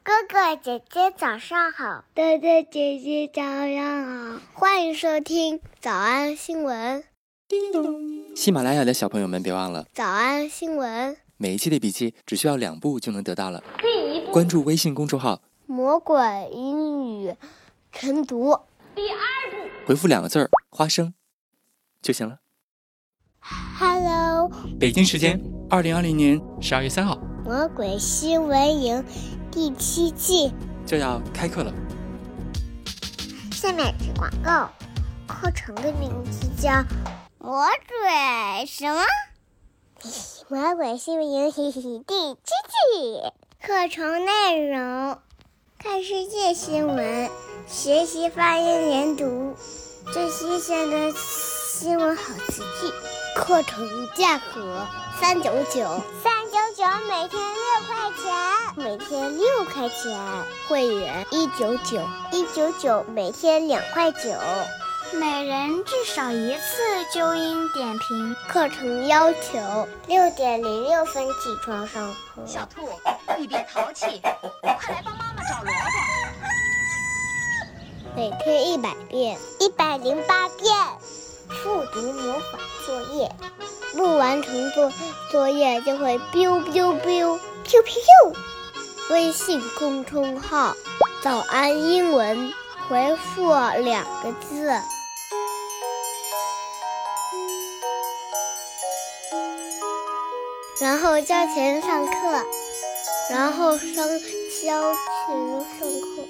哥哥姐姐早上好， 哥哥姐姐早上好， 欢迎收听早安新闻。 叮咚！喜马拉雅的小朋友们别忘了早安新闻， 每一期的笔记只需要2步就能得到了。第1步，关注微信公众号魔鬼英语晨读。 第2步， 回复2个字花生就行了。 Hello， 北京时间2020年12月3号， 魔鬼新闻营第7季就要开课了。 下面是广告，课程的名字叫魔鬼什么？魔鬼新闻营第7季。课程内容：看世界新闻，学习发音连读，最新鲜的新闻好词句。课程价格399，每天6块钱，每天6块钱。会员199，每天2块9。每人至少1次纠音点评。课程要求6点06分起床上课。 小兔，你别淘气，快来帮妈妈找萝卜。 每天100遍，108遍。复读模仿作业，不完成作业就会 biu biu biu biu biu。微信公众号早安英文，回复2个字。然后交钱上课，然后交钱上课。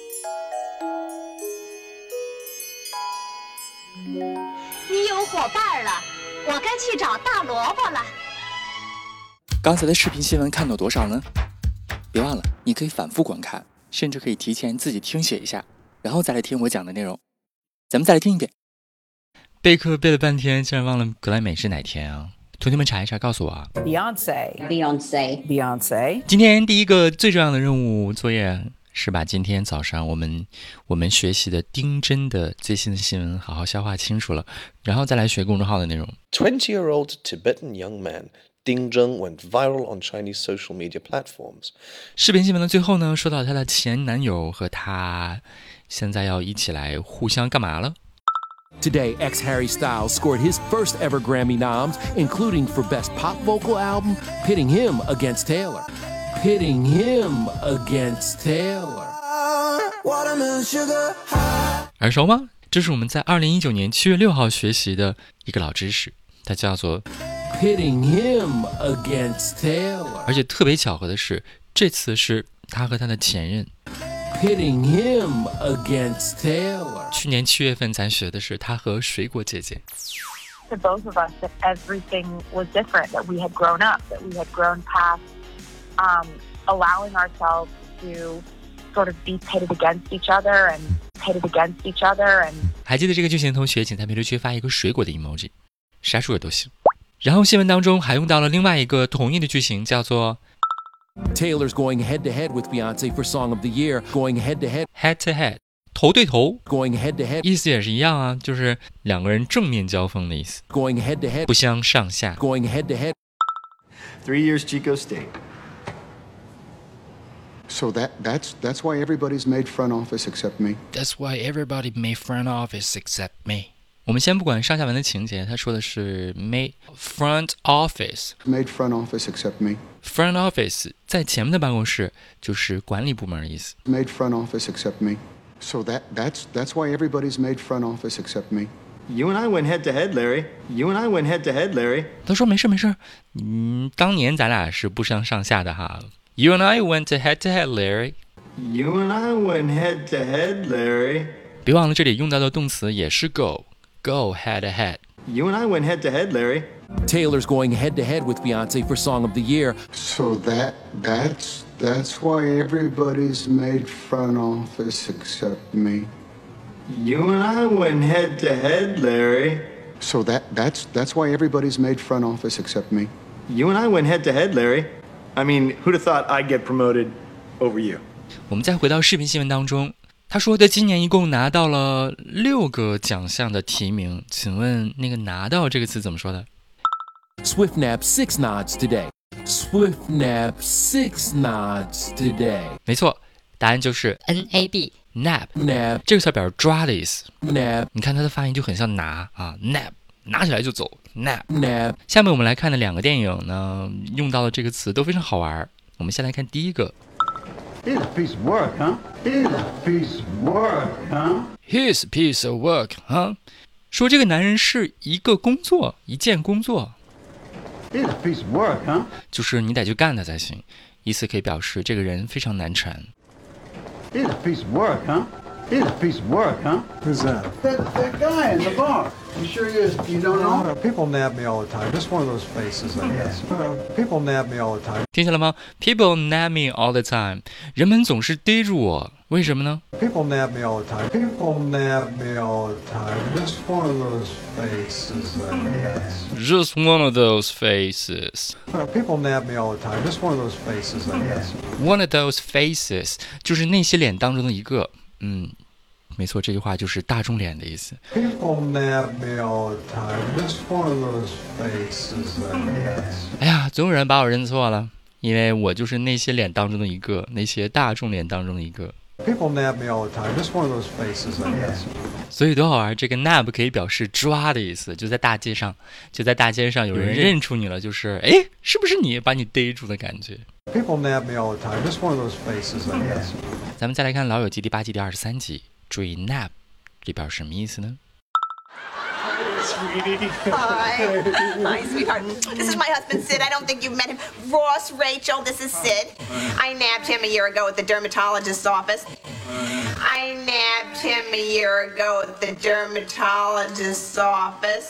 你有伙伴了，我该去找大萝卜了。 刚才的视频新闻看到多少呢？别忘了，你可以反复观看，甚至可以提前自己听写一下，然后再来听我讲的内容。咱们再来听一遍。备课背了半天，竟然忘了格莱美是哪天啊？同学们查一查，告诉我啊。 Beyonce。 今天第一个最重要的任务作业是把今天早上我们学习的丁真的最新的新闻好好消化清楚了，然后再来学公众号的内容。 20-year-old Tibetan young man Ding Zheng went viral on Chinese social media platforms. 视频新闻的最后呢，说到她的前男友和她现在要一起来互相干嘛了。 Today, ex-Harry Styles scored his first ever Grammy noms, including for Best Pop Vocal Album, pitting him against Taylor. Pitting him against Taylor. 耳熟吗？这是我们在2019年7月6号学习的一个老知识，它叫做 Pitting him against Taylor. 而且特别巧合的是，这次是他和他的前任。 Pitting him against Taylor. 去年7月份咱学的是他和水果姐姐。 To both of us, that everything was different, that we had grown up, that we had grown past allowing ourselves to sort of be pitted against each other and pitted against each other. And 还记得这个句型的同学，请在评论区发一个水果的 emoji， 啥水果都行。然后新闻当中还用到了另外一个同义的句型，叫做 Taylor's going head-to-head with Beyonce for Song of the Year. Going head-to-head. head to head， 头对头。 Going head-to-head. 意思也是一样啊，就是2个人正面交锋的意思。 Going head-to-head. 不相上下。 Going head-to-head. 3 years Chico State. So that's why everybody's made front office except me. That's why everybody made front office except me. 我们先不管上下文的情节，他说的是 made front office. Made front office except me. Front office 在前面的办公室就是管理部门的意思。 Made front office except me. So that's why everybody's made front office except me. You and I went head to head, Larry. You and I went head to head, Larry. 他说没事，当年咱俩是不相上下的哈。You and I went head to head, Larry. You and I went head to head, Larry. 别忘了这里用到的动词也是 go head to head. You and I went head to head, Larry. Taylor's going head-to-head with Beyonce for Song of the Year. So that's why everybody's made front office except me. You and I went head to head, Larry. So that's why everybody's made front office except me. You and I went head to head, Larry. I mean, who'd have thought I'd get promoted over you? 我们再回到视频新闻当中，他说的今年一共拿到了6个奖项的提名，请问那个拿到这个词怎么说的？ Swift nabbed 6 nods today. Swift nabbed 6 nods today. 没错答案就是 NAB nab。这个词表示抓的意思。你看它的发音就很像拿啊 nab， 拿起来就走 nab。下面我们来看的2个电影呢，用到的这个词都非常好玩。我们先来看第一个。 Here's a piece of work, huh? Here's a piece of work, huh? Here's a piece of work, huh? 说这个男人是一个工作，一件工作。 Here's a piece of work, huh? 就是你得去干它才行，意思可以表示这个人非常难缠。 Here's a piece of work, huh? Here's a piece of work, huh? Who's that? That guy in the bar. You sure you don't know? People nab me all the time. Just one of those faces, I guess. People nab me all the time. 听见了吗 ？People nab me all the time. 人们总是逮住我，为什么呢 ？People nab me all the time. People nab me all the time. Just one of those faces, I guess. Just one of those faces. People nab me all the time. Just one of those faces, I guess. One of those faces 就是那些脸当中的一个。没错，这句话就是大众脸的意思。 People nab me all the time. Just one of those faces, I guess. 哎呀，总有人把我认错了，因为我就是那些脸当中的一个，那些大众脸当中的一个。 People nab me all the time. Just one of those faces, I guess. 所以多好玩！这个 nab 可以表示抓的意思，就在大街上有人认出你了，就是哎，是不是你把你逮住的感觉 ？People nab me all the time. Just one of those faces, I guess. 咱们再来看《老友记》第8季第23集，注意 nab 这表示什么意思呢？ Hi, sweetheart. This is my husband, Sid. I don't think you've met him. Ross, Rachel, this is Sid. I nabbed him a year ago at the dermatologist's office. I nabbed him a year ago at the dermatologist's office.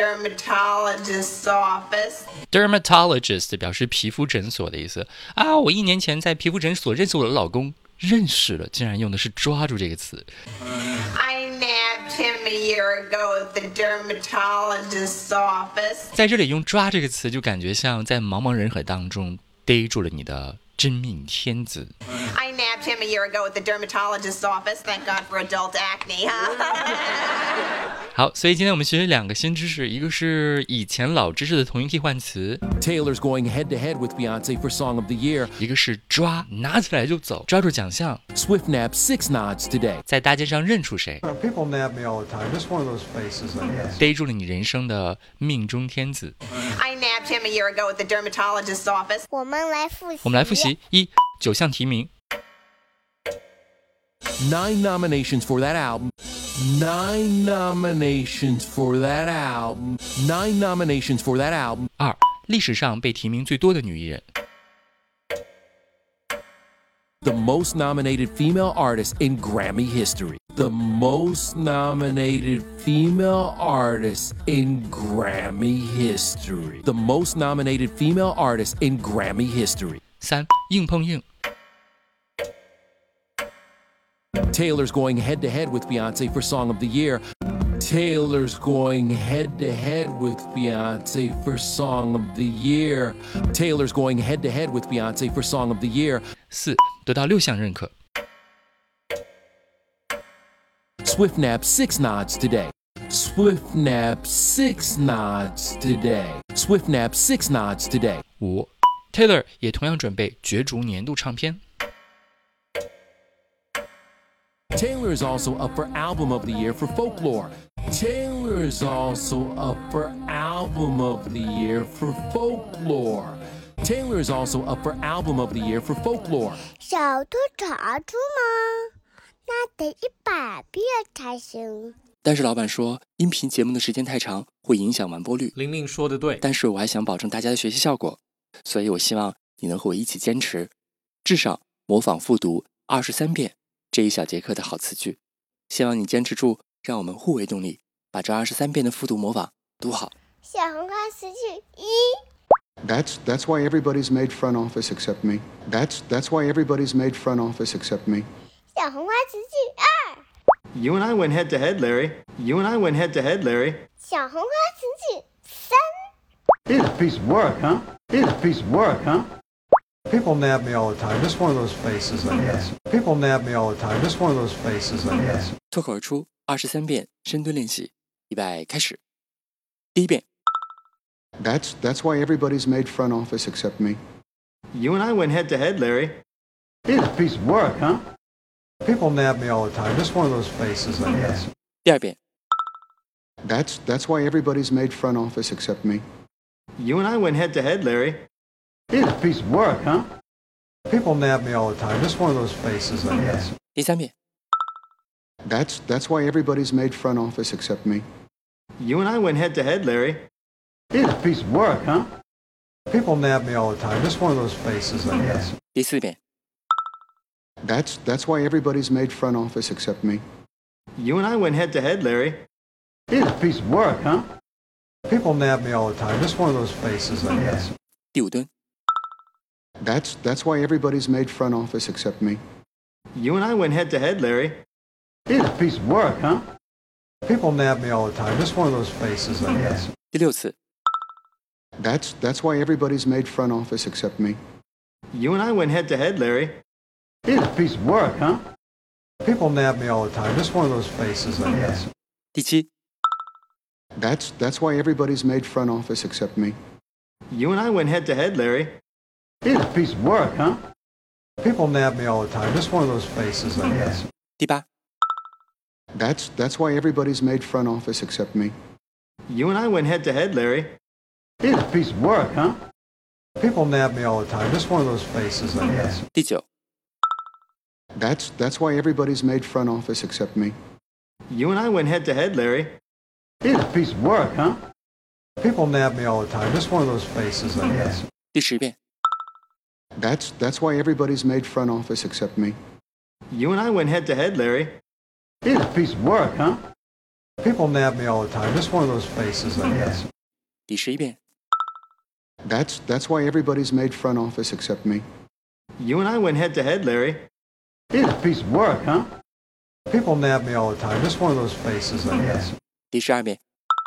Dermatologist 表示皮肤诊所的意思啊！我1年前在皮肤诊所认识我的老公，认识了，竟然用的是抓住这个词。I nabbed him a year ago at the dermatologist's office. 在这里用抓这个词，就感觉像在茫茫人海当中逮住了你的真命天子。I nabbed him a year ago at the dermatologist's office. Thank God for adult acne, huh? 好，所以今天我们学2个新知识，一个是以前老知识的同音替换词 Taylor's going head-to-head with Beyonce for Song of the Year. 一个是抓，拿起来就走，抓住奖项 Swift nabbed 6 nods today. 在大街上认出谁 People nab me all the time. Just one of those faces, I guess. 逮住了你人生的命中天子 I nabbed him a year ago at the dermatologist's office. 我们来复习 1 9项提名 9 nominations for that album. 9 nominations for that album. 9 nominations for that album. 2历史上被提名最多的女艺人 The most nominated female artist in Grammy history. The most nominated female artist in Grammy history. The most nominated female artist in Grammy history. 3硬碰硬 Taylor's going head-to-head with Beyonce for Song of the Year. Taylor's going head-to-head with Beyonce for Song of the Year. Taylor's going head-to-head with Beyonce for Song of the Year. 4得到6项认可 Swift nabbed 6 nods today. Swift nabbed 6 nods today. Swift nabbed 6 nods today. 5 Taylor 也同样准备角逐年度唱片 Taylor is also up for Album of the Year for Folklore. Taylor is also up for Album of the Year for Folklore. Taylor is also up for Album of the Year for Folklore. 小兔查出吗？那得100遍才行。 但是老板说音频节目的时间太长会影响完播率。 玲玲说的对， 但是我还想保证大家的学习效果，所以我希望你能和我一起坚持，至少模仿复读23遍这一小节课的好词句。希望你坚持住，让我们互为动力，把这23遍的复读模仿读好。 小红花词句1。 That's why everybody's made front office except me. That's why everybody's made front office except me. 小红花词句2。 You and I went head to head, Larry. You and I went head to head, Larry. 小红花词句3。 Here's a piece of work, huh? Here's a piece of work, huh? People nab me all the time. Just one of those faces, I guess. People nab me all the time. Just one of those faces, I guess. 脱口而出23遍深蹲练习，预备开始。第1遍 That's why everybody's made front office except me. You and I went head to head, Larry. Here's a piece of work, huh? People nab me all the time. Just one of those faces, I guess. 第二遍。 That's why everybody's made front office except me. You and I went head to head, Larry. It's a piece of work, huh? People nab me all the time. Just one of those faces, I guess. 第三遍。 That's why everybody's made front office except me. You and I went head to head, Larry. It's a piece of work, huh? People nab me all the time. Just one of those faces, I guess. 第四遍。 That's why everybody's made front office except me. You and I went head to head, Larry. It's a piece of work, huh? People nab me all the time. Just one of those faces, I guess. 第五蹲。 That's why everybody's made front office except me. You and I went head to head, Larry. It's a piece of work, huh? People nab me all the time. Just one of those faces, I guess. 第六次。 That's why everybody's made front office except me. You and I went head to head, Larry. It's a piece of work, huh? People nab me all the time. Just one of those faces, I guess. 第七。 That's why everybody's made front office except me. You and I went head to head, Larry. It's a piece of work, huh? People nab me all the time. Just one of those faces, I guess. 第八。 That's why everybody's made front office except me. You and I went head to head, Larry. It's a piece of work, huh? People nab me all the time. Just one of those faces, I guess. 第九。 That's why everybody's made front office except me. You and I went head to head, Larry. It's a piece of work, huh? People nab me all the time. Just one of those faces, I guess. 第十遍。 That's why everybody's made front office except me. You and I went head to head, Larry. It's a piece of work, huh? People nab me all the time. Just one of those faces, I guess. 第11遍。 That's why everybody's made front office except me. You and I went head to head, Larry. It's a piece of work, huh? People nab me all the time. Just one of those faces, I guess. 第12遍。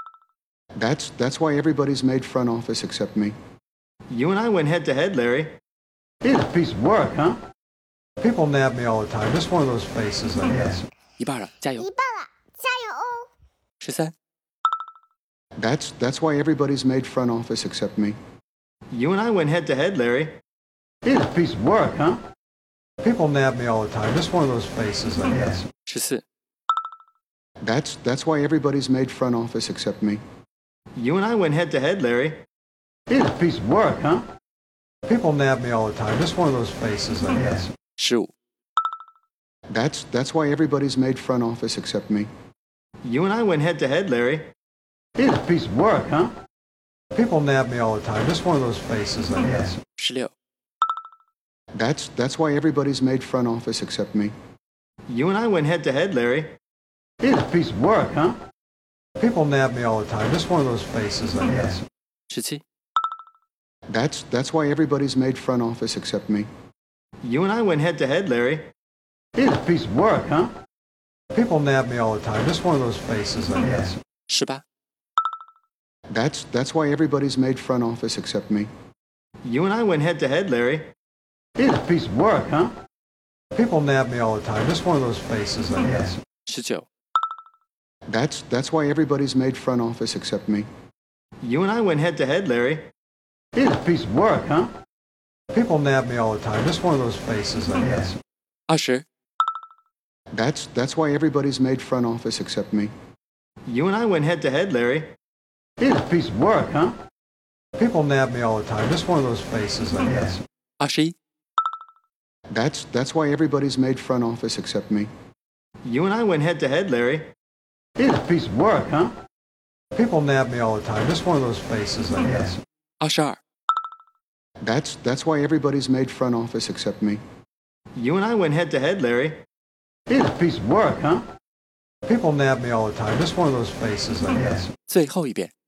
That's why everybody's made front office except me. You and I went head to head, Larry. It's a piece of work, huh? People nab me all the time. Just one of those faces, I guess. 一半了，加油！ 一半了，加油哦 ！13。 That's why everybody's made front office except me. You and I went head to head, Larry. It's a piece of work, huh? People nab me all the time. Just one of those faces, I guess. 14。 That's why everybody's made front office except me. You and I went head to head, Larry. It's a piece of work, huh? People nab me all the time. Just one of those faces, I guess. 15。 That's why everybody's made front office except me. You and I went head to head, Larry. It's a piece of work, huh? People nab me all the time. Just one of those faces, I guess. 16。 That's why everybody's made front office except me. You and I went head to head, Larry. It's a piece of work, huh? People nab me all the time. Just one of those faces, I guess. 17。 That's why everybody's made front office except me. You and I went head to head, Larry. It's a piece of work, huh? People nab me all the time. Just one of those faces, I guess. 18。 That's why everybody's made front office except me. You and I went head to head, Larry. It's a piece of work, huh? People nab me all the time. Just one of those faces, I guess. 19。 That's why everybody's made front office except me. You and I went head to head, Larry. It's a piece of work, huh? People nab me all the time. Just one of those faces, I guess. 20。 That's why everybody's made front office except me. You and I went head to head, Larry. It's a piece of work, huh? People nab me all the time. Just one of those faces, I guess. 21。 That's why everybody's made front office except me. You and I went head to head, Larry. It's a piece of work, huh? People nab me all the time. Just one of those faces, I guess. 22。 That's why everybody's made front office except me. You and I went head to head, Larry. It's a piece of work, huh? People nab me all the time. Just one of those faces, I guess. 最后一遍。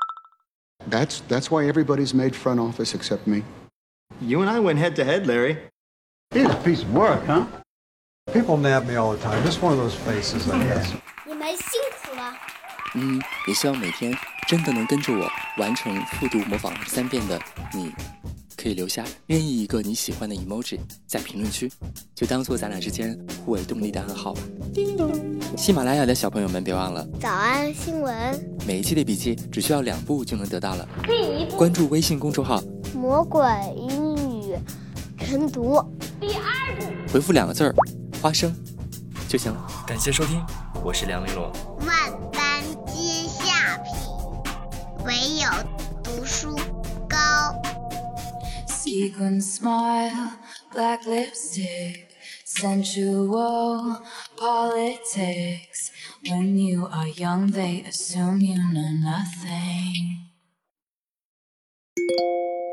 That's why everybody's made front office except me. You and I went head to head, Larry. It's a piece of work, huh? People nab me all the time. Just one of those faces, I guess. 你们辛苦了。 也希望每天真的能跟着我完成复读模仿3遍的你，可以留下任意一个你喜欢的 emoji 在评论区，就当做咱俩之间互为动力的暗号吧。喜马拉雅的小朋友们别忘了， 早安新闻， 每一期的笔记只需要2步就能得到了。关注微信公众号魔鬼英语晨读。第2步， 回复2个字儿花生就行了。感谢收听，我是梁玲珑。 万般皆下品，唯有读书高。 Sequin smile, black lipstick, sensual politics. When you are young, they assume you know nothing.